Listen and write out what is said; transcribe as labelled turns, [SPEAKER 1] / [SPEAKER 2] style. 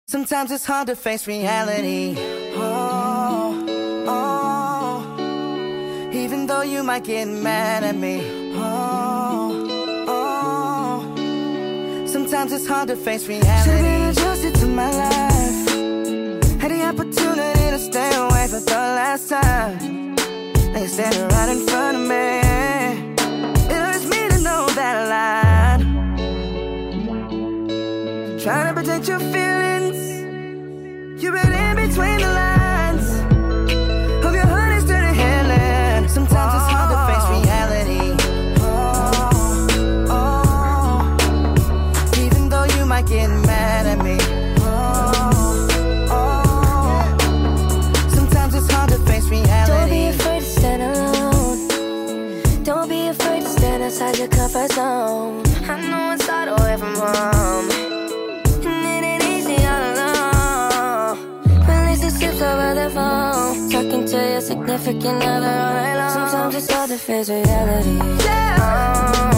[SPEAKER 1] Sometimes it's hard to face reality. Oh, oh. Even though you might get mad at me. Oh, oh. Sometimes it's hard to face reality. Should've been adjusted to my life. Had the opportunity to stay away for the last time. Now you're standing right in front of me. It hurts me to know that I lied. Trying to protect your feelings. You read in between the lines of your heart is dirty headland. Sometimes it's hard to face reality. Oh, oh. Even though you might get mad at me. Oh, oh. Sometimes it's hard to face reality.
[SPEAKER 2] Don't be afraid to stand alone. Don't be afraid to stand outside your comfort zone. I know it's hard away from home. Over the phone, talking to your significant other all night long. Sometimes it's hard to face reality. Yeah.